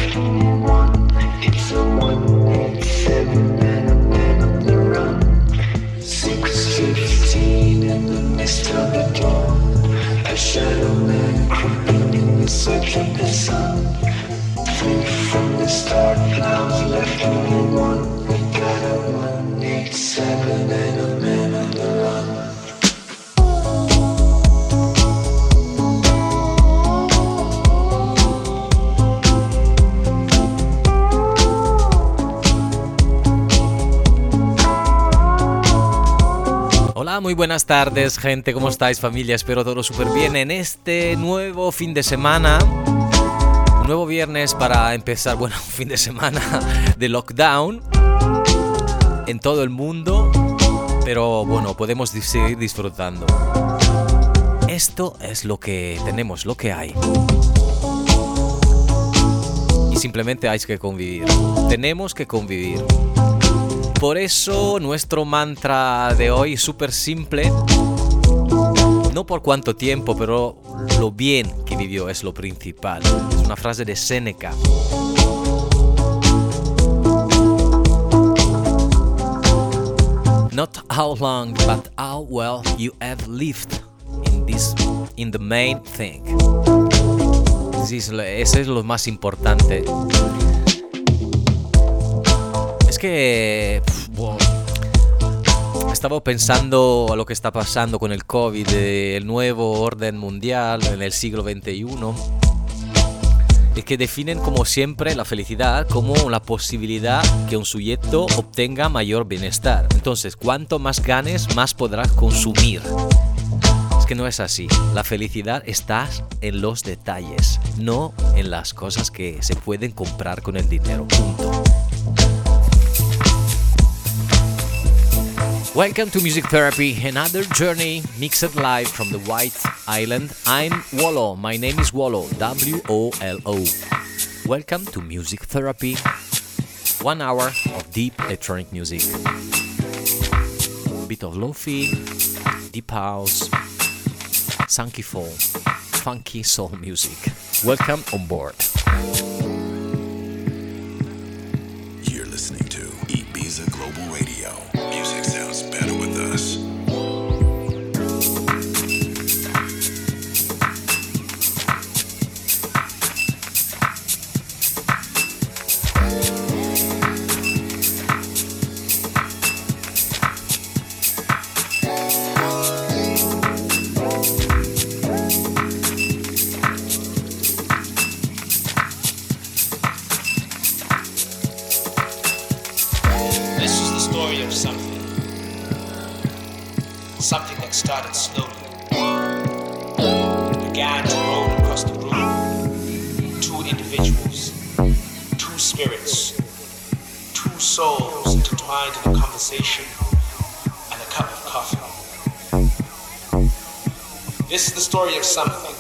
left only one. It's a 187 and a man on the run. 6:15 in the mist of the dawn. A shadow man creeping in the search of the sun. Think from the start, clouds left only one. We got a 187 and a man on the run. Hola, muy buenas tardes, gente. ¿Cómo estáis, familia? Espero todo súper bien en este nuevo fin de semana. Un nuevo viernes para empezar, un fin de semana de lockdown en todo el mundo. Pero bueno, podemos seguir disfrutando. Esto es lo que tenemos, lo que hay. Y simplemente hay que convivir. Tenemos que convivir. Por eso nuestro mantra de hoy es súper simple. No por cuánto tiempo, pero lo bien que vivió es lo principal. Es una frase de Séneca. Not how long, but how well you have lived in the main thing. Ese es lo más importante. Es que estaba pensando a lo que está pasando con el COVID, el nuevo orden mundial en el siglo XXI, y que definen como siempre la felicidad como la posibilidad que un sujeto obtenga mayor bienestar. Entonces, cuanto más ganes, más podrás consumir. Es que no es así. La felicidad está en los detalles, no en las cosas que se pueden comprar con el dinero. Punto. Welcome to Music Therapy, another journey mixed live from the White Island. I'm Wolo. My name is Wolo, W-O-L-O. Welcome to Music Therapy. 1 hour of deep electronic music. Bit of lo-fi, deep house, funky soul music. Welcome on board. You're listening to Ibiza Global Radio. Music sounds better with us. Something that started slowly, began to roll across the room. 2 individuals, 2 spirits, 2 souls intertwined in a conversation and a cup of coffee. This is the story of something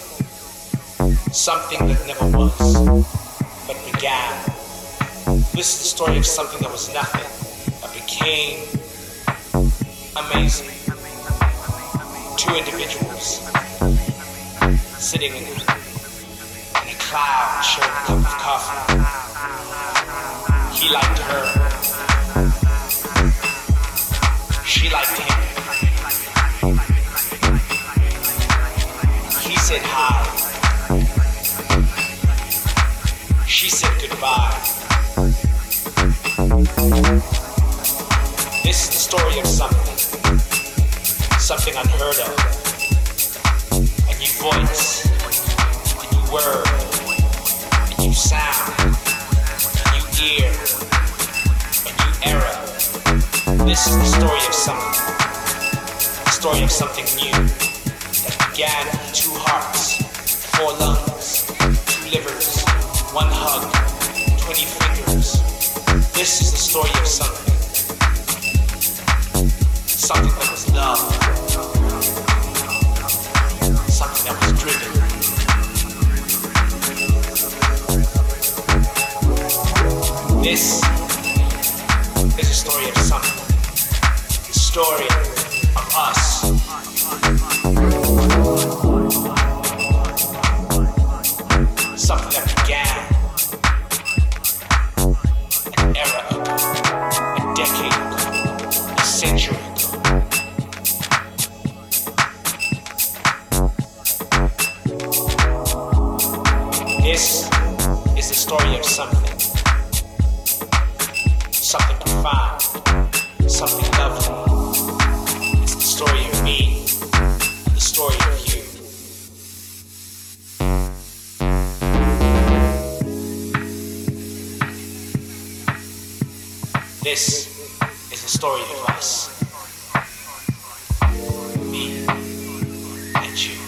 that never was, but began. This is the story of something that was nothing, but became amazing. 2 individuals sitting in a cloud sharing a cup of coffee. He liked her. She liked him. He said hi. She said goodbye. This is the story of something unheard of. A new voice, a new word, a new sound, a new ear, a new era. This is the story of something. The story of something new that began with 2 hearts, 4 lungs, 2 livers, 1 hug, 20 fingers. This is the story of something. Something that was love. Something that was driven. This is a story of something. The story of us. Something that began This is the story of something. Something profound. Something lovely. It's the story of me. And the story of you. This is the story of us. Me and you.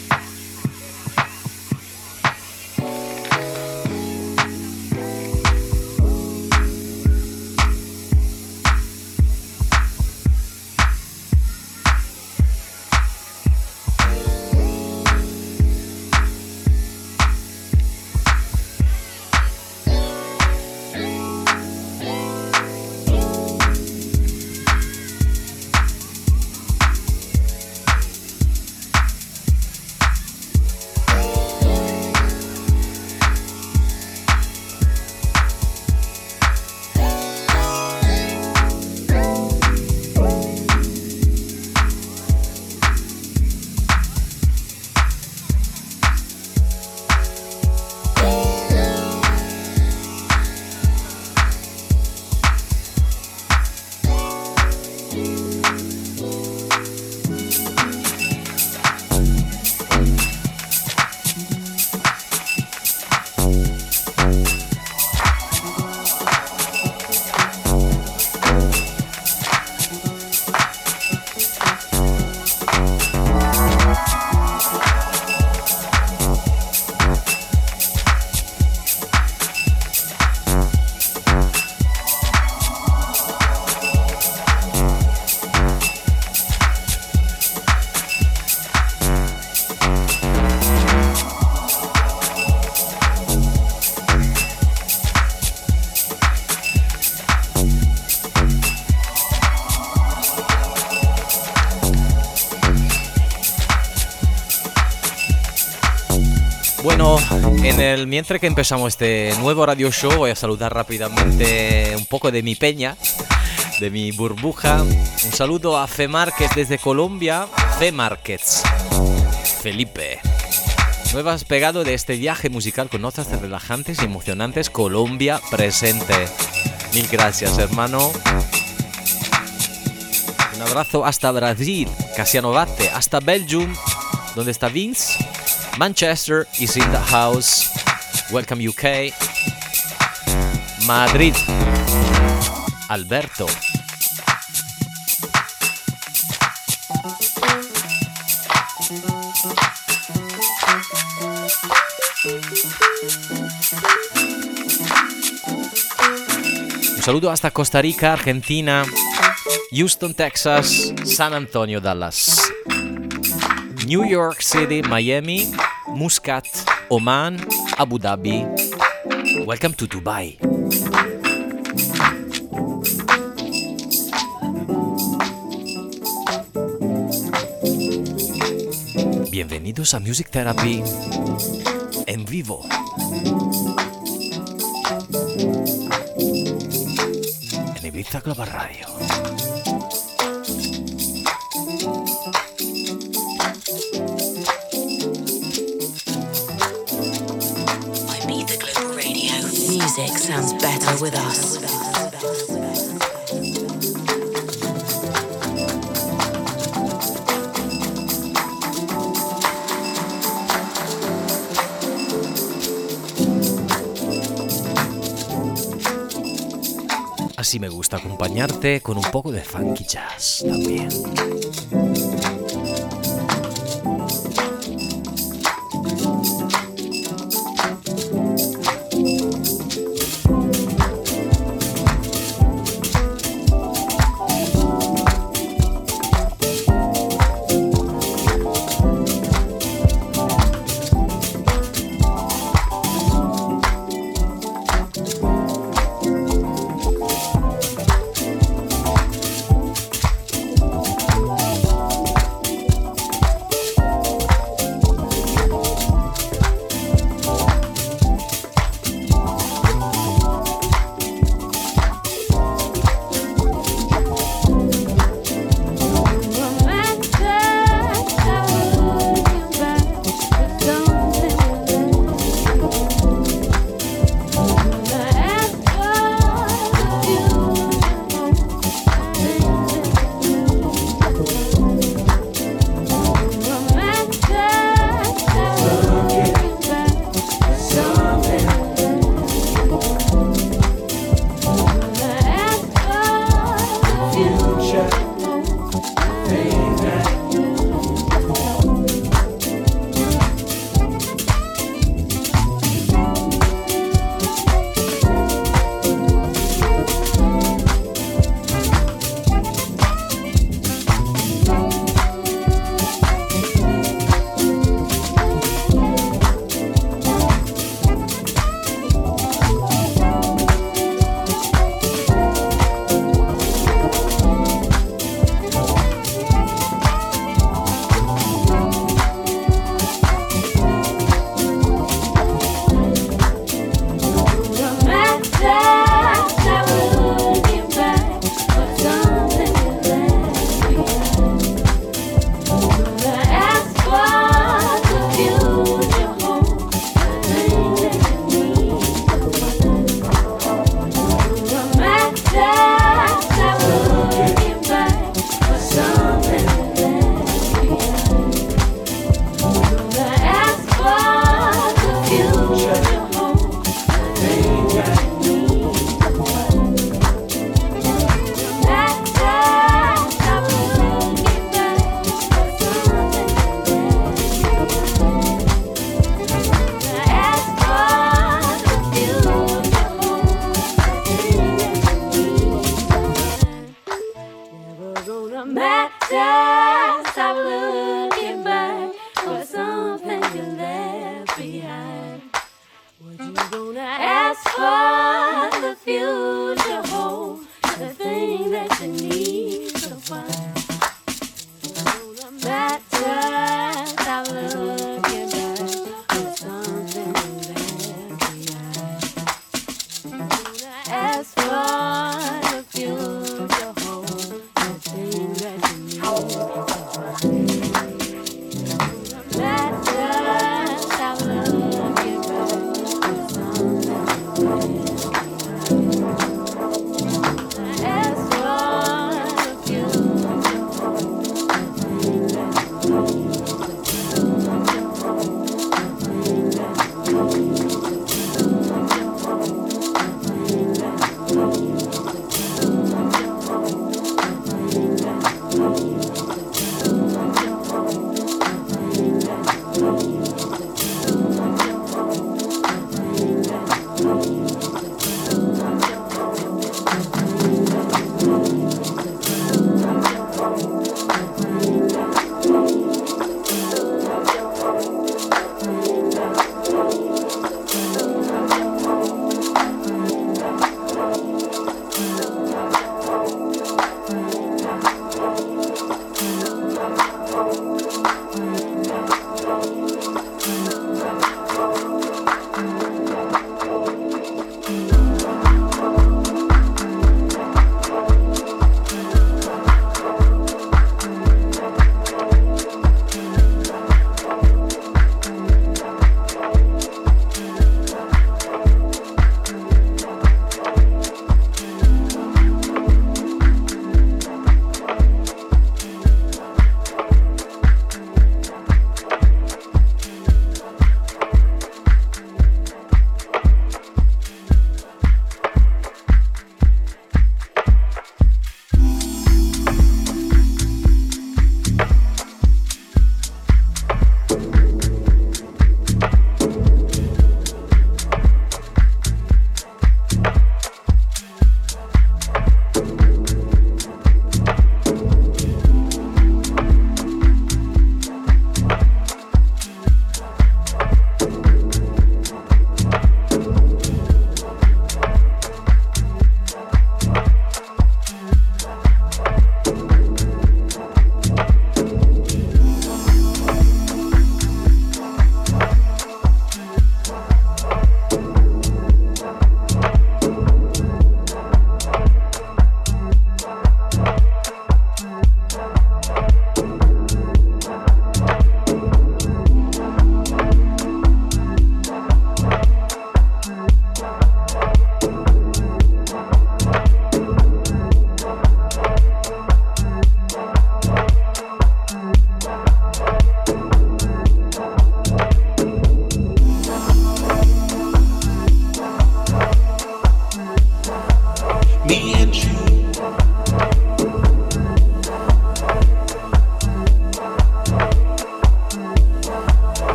Bueno, mientras que empezamos este nuevo radio show, voy a saludar rápidamente un poco de mi peña, de mi burbuja. Un saludo a Fe Márquez desde Colombia. Fe Márquez, Felipe. Nuevas pegado de este viaje musical con notas relajantes y emocionantes. Colombia presente. Mil gracias, hermano. Un abrazo hasta Brasil, Casiano Batte, hasta Belgium, donde está Vince. Manchester is in the house. Welcome UK. Madrid. Alberto. Un saludo hasta Costa Rica, Argentina, Houston, Texas, San Antonio, Dallas, New York City, Miami, Muscat, Oman, Abu Dhabi. Welcome to Dubai. Bienvenidos a Music Therapy en vivo. En Ibiza Global Radio. Ibiza Global Radio. Music sounds better with us. Así me gusta acompañarte con un poco de funky jazz también. Ask what the future holds, the thing that you need to find. That just how looking back with something behind. Ask what the future holds, the thing that you need to find. That just how looking back with something behind. Ask what the future holds, the thing that you need to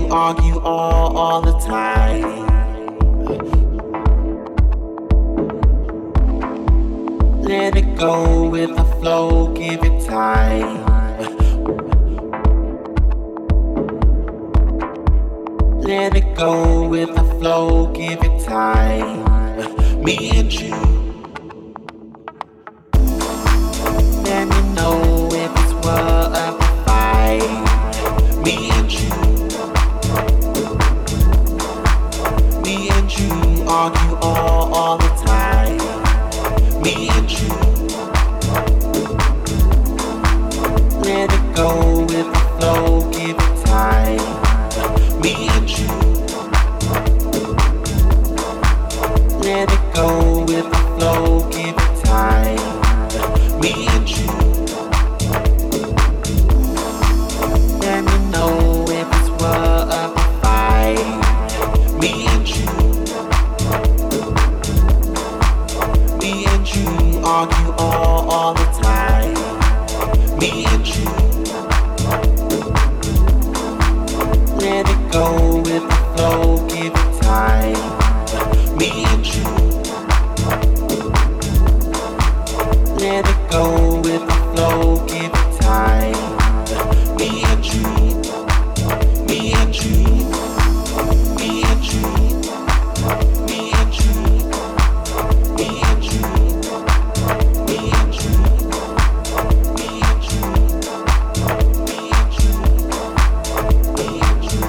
argue all the time. Let it go with the flow, give it time. Let it go with the flow, give it time. Me and you. Let me know if it's worth a fight. Me and you. Me and you argue all the time. Me and you. Let it go with the flow, give it time. Me and you. Let it go with the flow, give it time. Me and you. Let me know if it's worth a fight. Me and you. Me and you argue all the time. Me and you. Let it go with the flow, give it time. Me and you. Let it go with the flow, give it time. Me and you. Me and you. Me and you. Me and you. Me and you. Me and you. Me and you. Me and you. Me and you.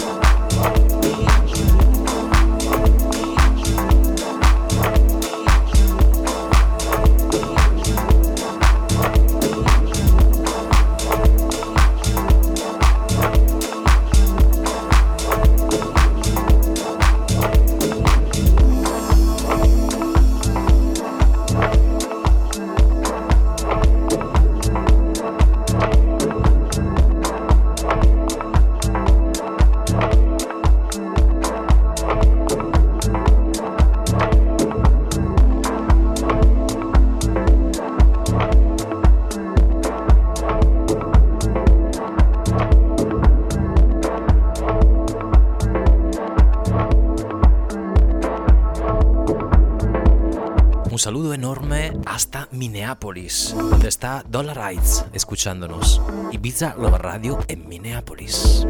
Un saludo enorme hasta Minneapolis, donde está Dollar Rights escuchándonos. Ibiza Love Radio en Minneapolis.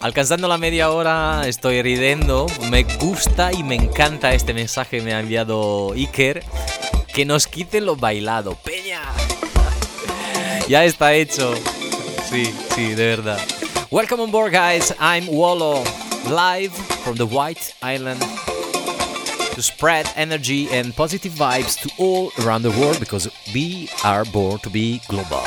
Alcanzando la media hora, estoy riendo. Me gusta y me encanta este mensaje que me ha enviado Iker. Que nos quiten lo bailado. ¡Peña! Ya está hecho. Sí, de verdad. Welcome on board, guys. I'm Wallo, live from the White Island to spread energy and positive vibes to all around the world because we are born to be global.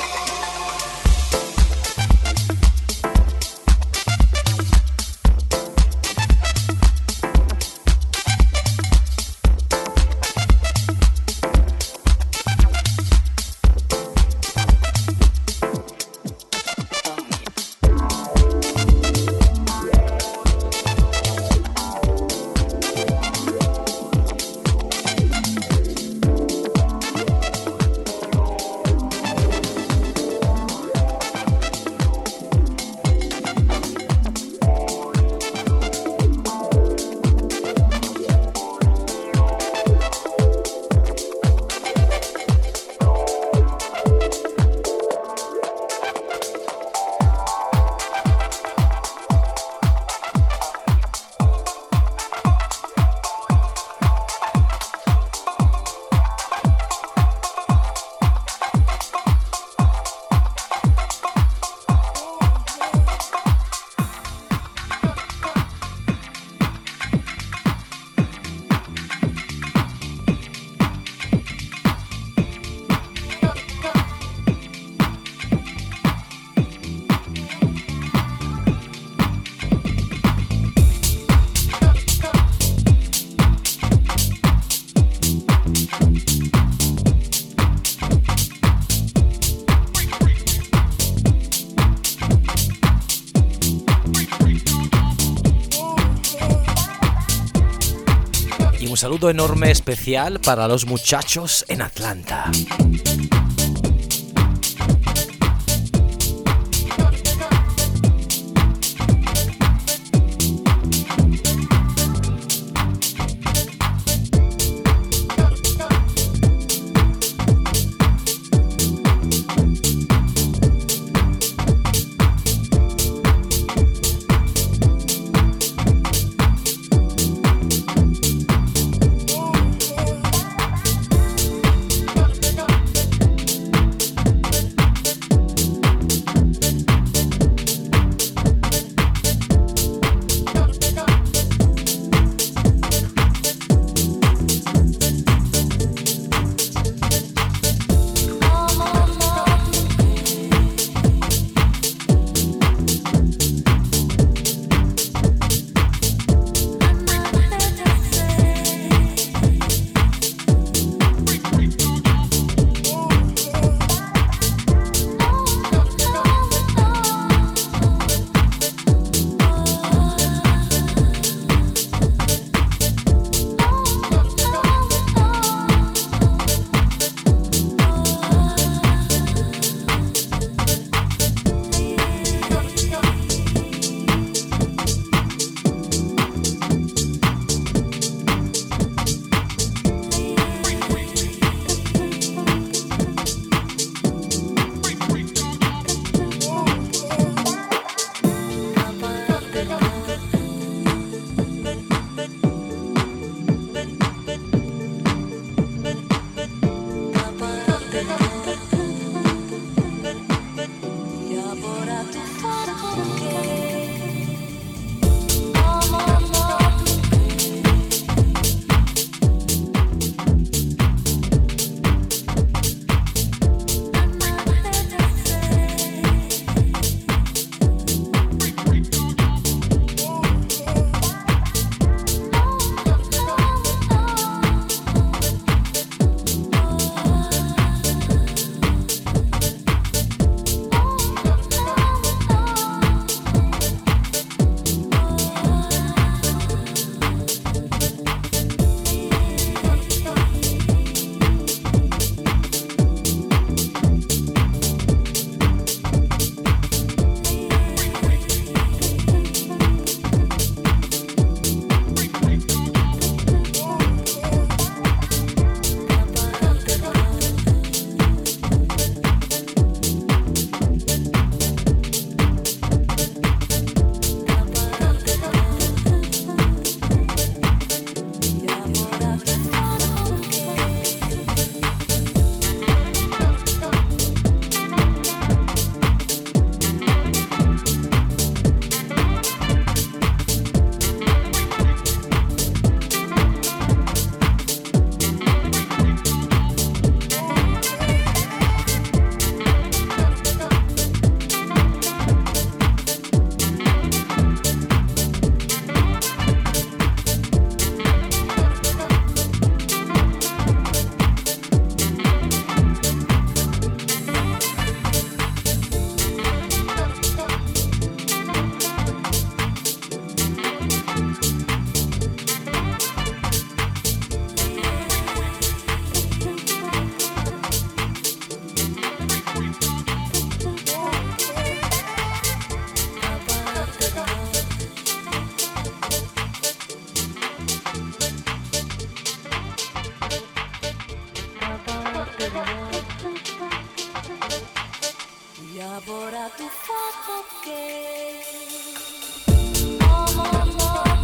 Un saludo enorme especial para los muchachos en Atlanta. Elabora tu fuoco che amor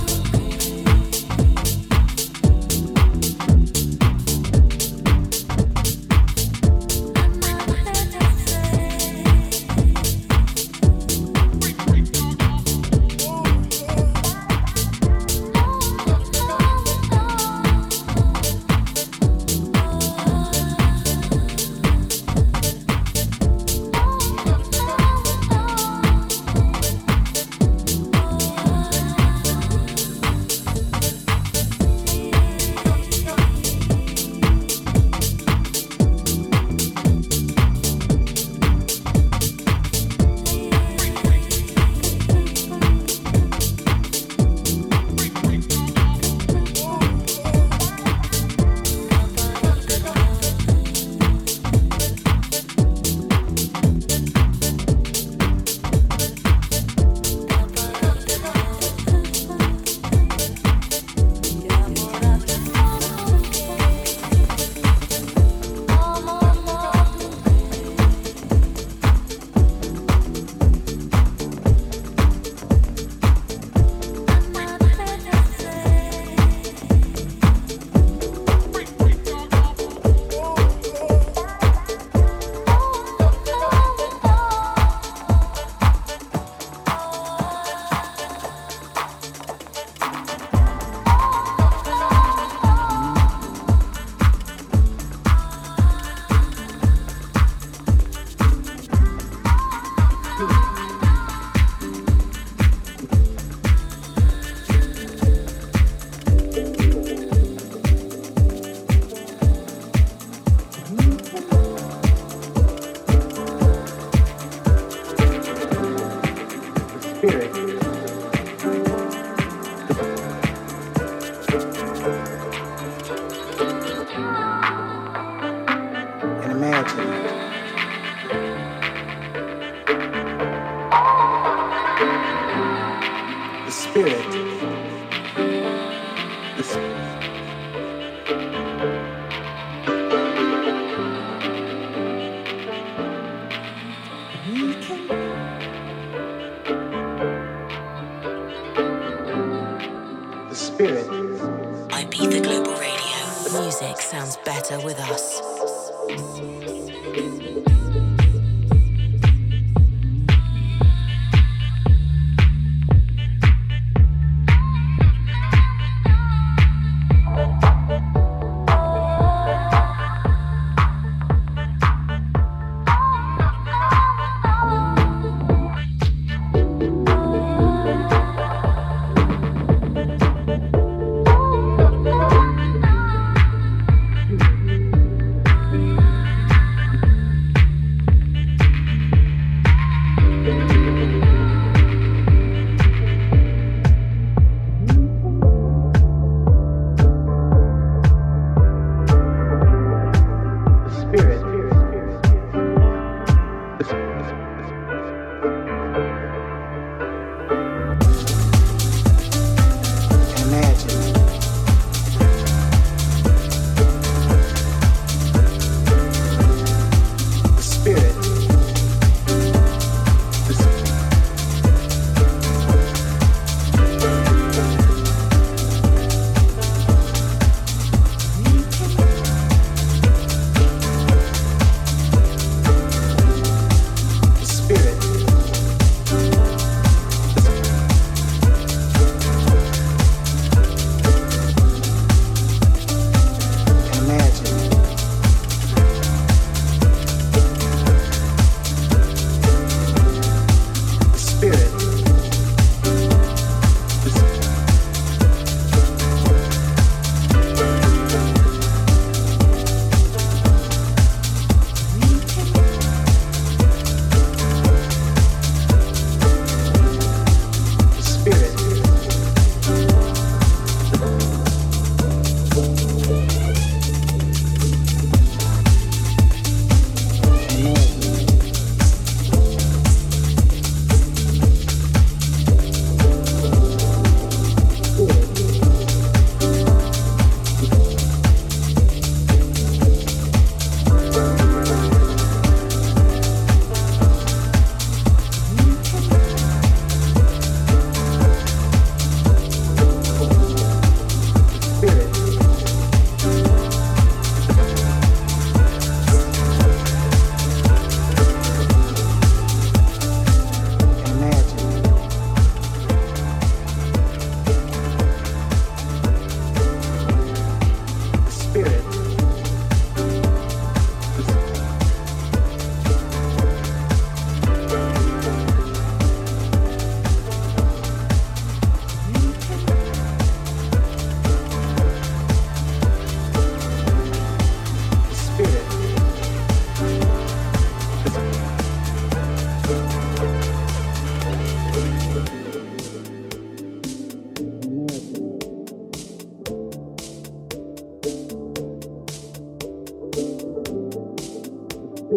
Ibiza Global Radio. Music sounds better with us.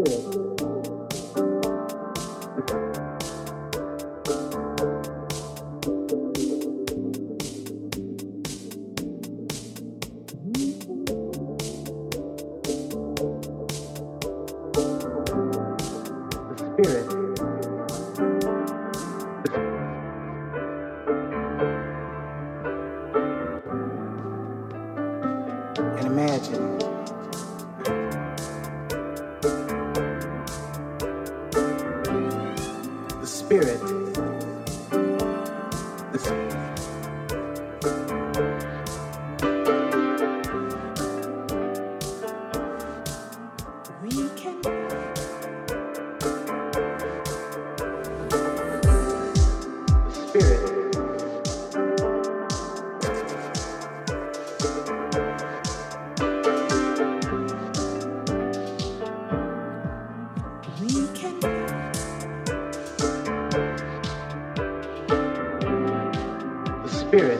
And imagine the spirit, we can the spirit. We can the spirit.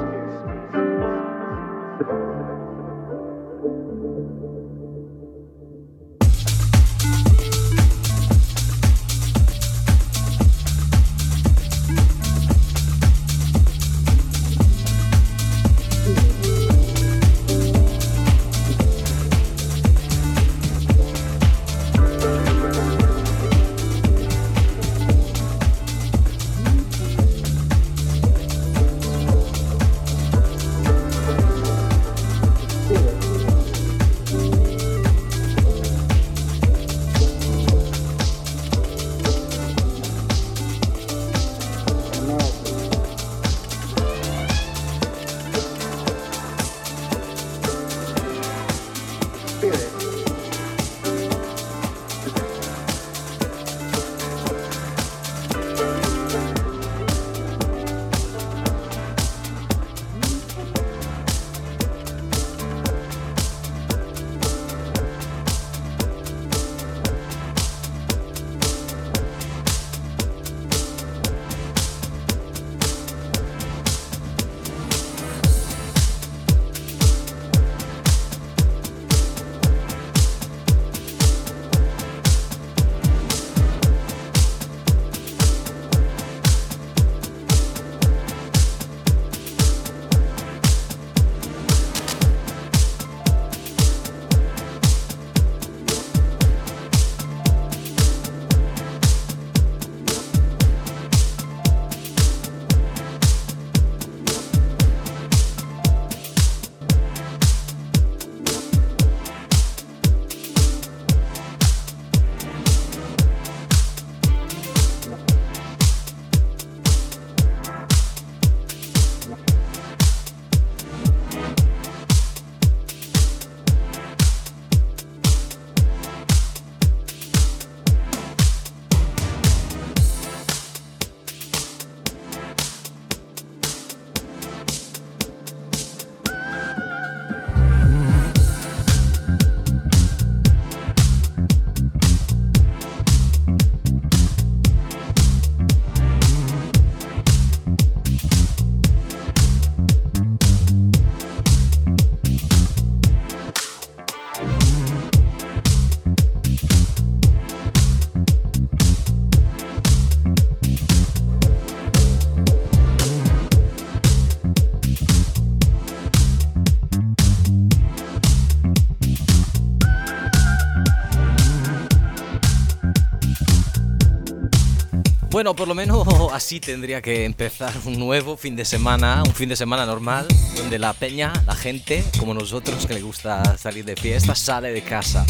Bueno, por lo menos así tendría que empezar un nuevo fin de semana, un fin de semana normal, donde la peña, la gente, como nosotros que le gusta salir de fiesta, sale de casa.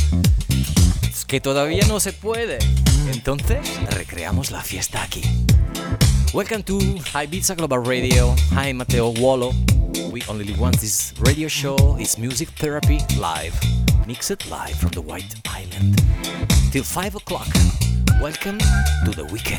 Es que todavía no se puede. Entonces, recreamos la fiesta aquí. Welcome to Ibiza Global Radio. Hi, Matteo Wolo. We only live once. This radio show is Music Therapy Live. Mixed live from the White Island. Till 5 o'clock. Welcome to the weekend.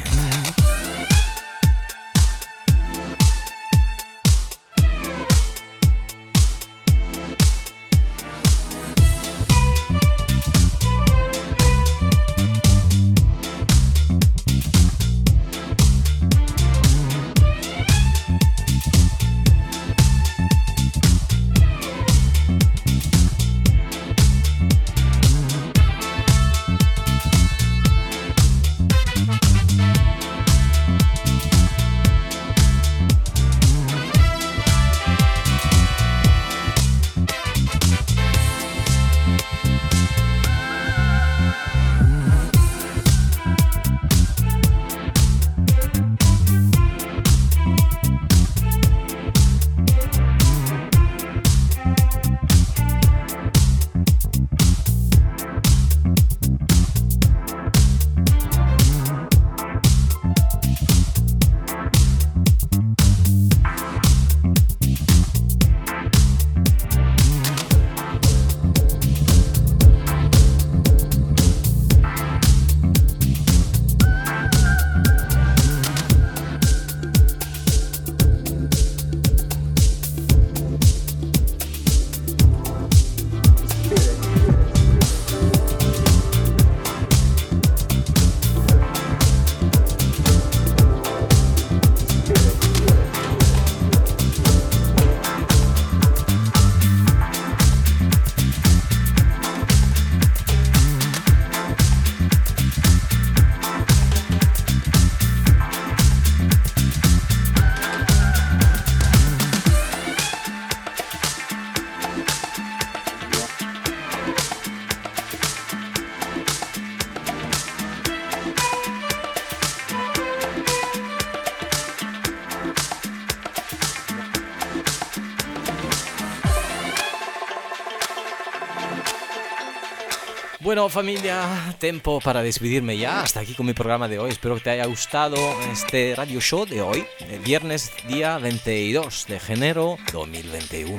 Bueno, familia, tiempo para despedirme ya. Hasta aquí con mi programa de hoy. Espero que te haya gustado este radio show de hoy, viernes día 22 de enero 2021.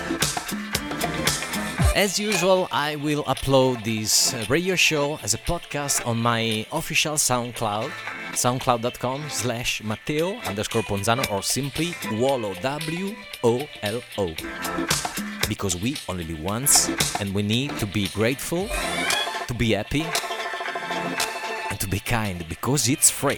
As usual, I will upload this radio show as a podcast on my official SoundCloud, soundcloud.com/Matteo_Ponzano, or simply Wolo, W-O-L-O. Because we only live once, and we need to be grateful, to be happy, and to be kind, because it's free.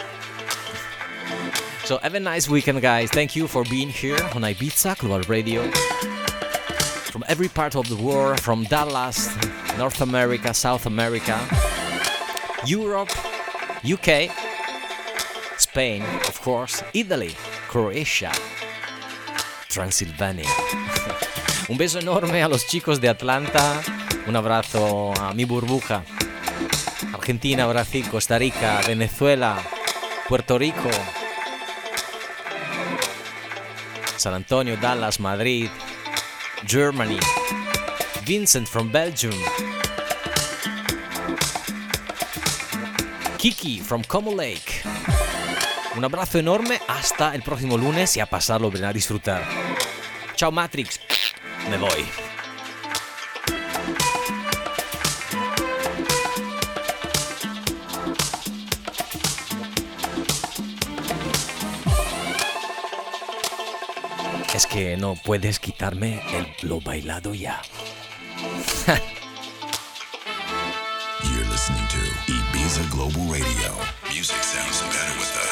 So have a nice weekend, guys. Thank you for being here on Ibiza Global Radio. From every part of the world, from Dallas, North America, South America, Europe, UK, Spain, of course, Italy, Croatia, Transylvania. Un beso enorme a los chicos de Atlanta, un abrazo a mi burbuja, Argentina, Brasil, Costa Rica, Venezuela, Puerto Rico, San Antonio, Dallas, Madrid, Germany, Vincent from Belgium, Kiki from Como Lake. Un abrazo enorme, hasta el próximo lunes y a pasarlo bien, a disfrutar. Chao Matrix, me voy. Es que no puedes quitarme lo bailado ya. You're listening to Ibiza Global Radio. Music sounds better with us.